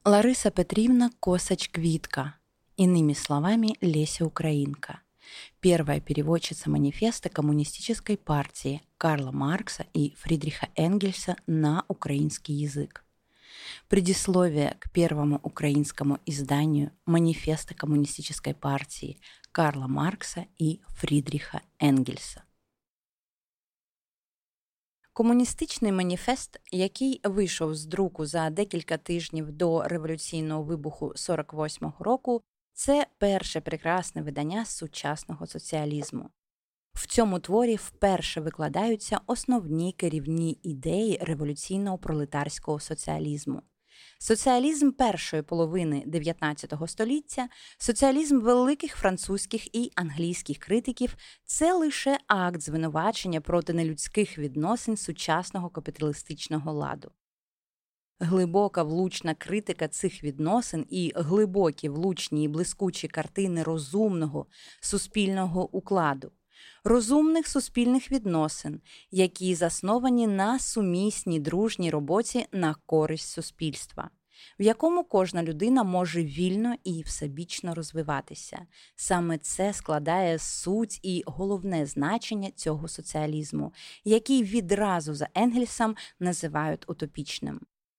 Лариса Петриевна Косач-Квитко, иными словами Леся Украинка, первая переводчица манифеста Коммунистической партии Карла Маркса и Фридриха Энгельса на украинский язык. Предисловие к первому украинскому изданию манифеста Коммунистической партии Карла Маркса и Фрідріха Енгельса. Комуністичний маніфест, який вийшов з друку за декілька тижнів до революційного вибуху 48-го року, це перше прекрасне видання сучасного соціалізму. В цьому творі вперше викладаються основні керівні ідеї революційного пролетарського соціалізму. Соціалізм першої половини 19 століття, соціалізм великих французьких і англійських критиків – це лише акт звинувачення проти нелюдських відносин сучасного капіталістичного ладу. Глибока влучна критика цих відносин і глибокі влучні і блискучі картини розумного суспільного укладу. Розумних суспільних відносин, які засновані на сумісній дружній роботі на користь суспільства, в якому кожна людина може вільно і всебічно розвиватися. Саме це складає суть і головне значення цього соціалізму, який відразу за Енгельсом називають утопічним.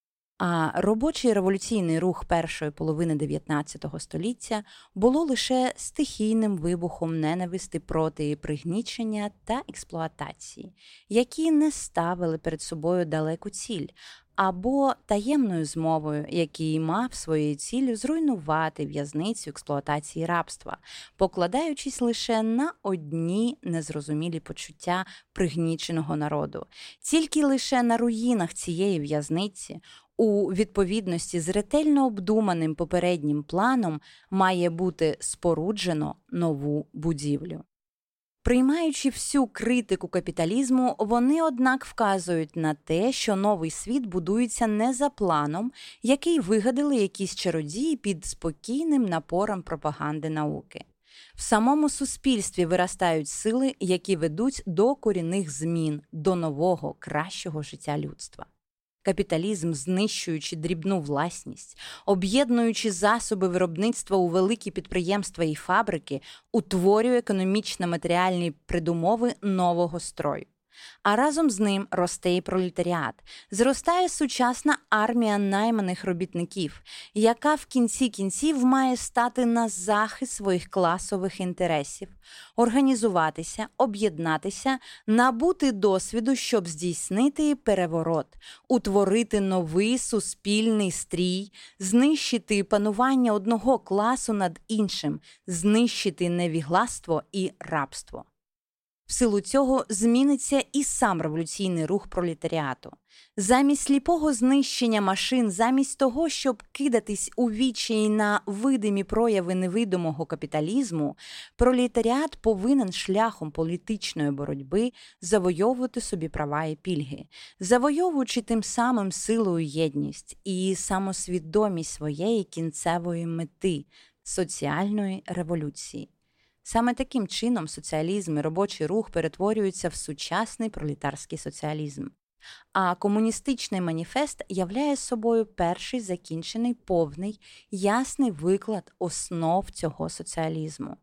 А робочий революційний рух першої половини 19 століття було лише стихійним вибухом ненависти проти пригнічення та експлуатації, які не ставили перед собою далеку ціль, або таємною змовою, який мав своєю ціллю зруйнувати в'язницю експлуатації рабства, покладаючись лише на одні незрозумілі почуття пригніченого народу. Тільки лише на руїнах цієї в'язниці, у відповідності з ретельно обдуманим попереднім планом, має бути споруджено нову будівлю. Приймаючи всю критику капіталізму, вони, однак, вказують на те, що новий світ будується не за планом, який вигадали якісь чародії під спокійним напором пропаганди науки. В самому суспільстві виростають сили, які ведуть до корінних змін, до нового, кращого життя людства. Капіталізм, знищуючи дрібну власність, об'єднуючи засоби виробництва у великі підприємства і фабрики, утворює економічно-матеріальні передумови нового строю. А разом з ним росте і пролетаріат, зростає сучасна армія найманих робітників, яка в кінці кінців має стати на захист своїх класових інтересів, організуватися, об'єднатися, набути досвіду, щоб здійснити переворот, утворити новий суспільний стрій, знищити панування одного класу над іншим, знищити невігластво і рабство. В силу цього зміниться і сам революційний рух пролетаріату. Замість сліпого знищення машин, замість того, щоб кидатись у відчаї на видимі прояви невидимого капіталізму, пролетаріат повинен шляхом політичної боротьби завойовувати собі права і пільги, завойовуючи тим самим силою єдність і самосвідомість своєї кінцевої мети – соціальної революції. Саме таким чином соціалізм і робочий рух перетворюються в сучасний пролетарський соціалізм. А комуністичний маніфест являє собою перший закінчений, повний, ясний виклад основ цього соціалізму.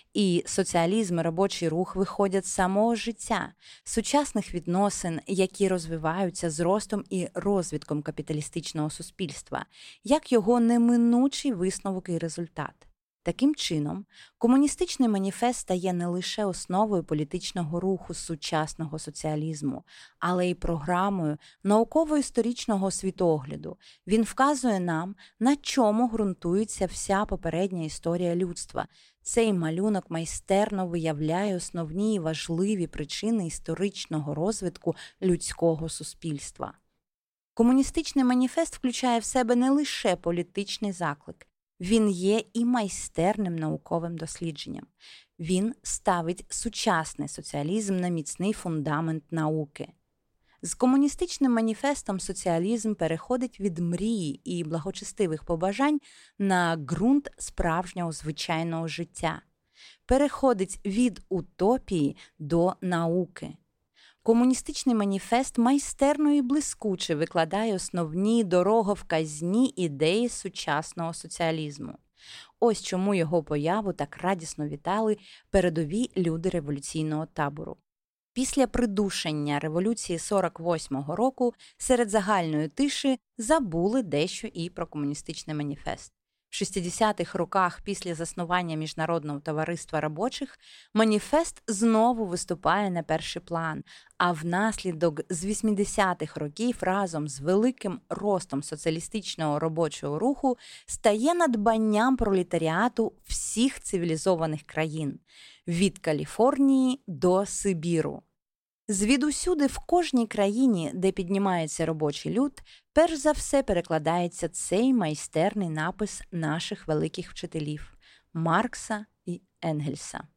І соціалізм і робочий рух виходять з самого життя, сучасних відносин, які розвиваються з ростом і розвитком капіталістичного суспільства, як його неминучий висновок і результат. Таким чином, комуністичний маніфест стає не лише основою політичного руху сучасного соціалізму, але й програмою науково-історичного світогляду. Він вказує нам, на чому ґрунтується вся попередня історія людства. Цей малюнок майстерно виявляє основні і важливі причини історичного розвитку людського суспільства. Комуністичний маніфест включає в себе не лише політичний заклик. Він є і майстерним науковим дослідженням. Він ставить сучасний соціалізм на міцний фундамент науки. З комуністичним маніфестом соціалізм переходить від мрії і благочестивих побажань на ґрунт справжнього звичайного життя. Переходить від утопії до науки. Комуністичний маніфест майстерно і блискуче викладає основні дороговказні ідеї сучасного соціалізму. Ось чому його появу так радісно вітали передові люди революційного табору. Після придушення революції 48-го року серед загальної тиші забули дещо і про комуністичний маніфест. В 60-х роках після заснування Міжнародного товариства робочих маніфест знову виступає на перший план, а внаслідок з 80-х років разом з великим ростом соціалістичного робочого руху стає надбанням пролетаріату всіх цивілізованих країн – від Каліфорнії до Сибіру. Звідусюди в кожній країні, де піднімається робочий люд, перш за все перекладається цей майстерний напис наших великих вчителів – Маркса і Енгельса.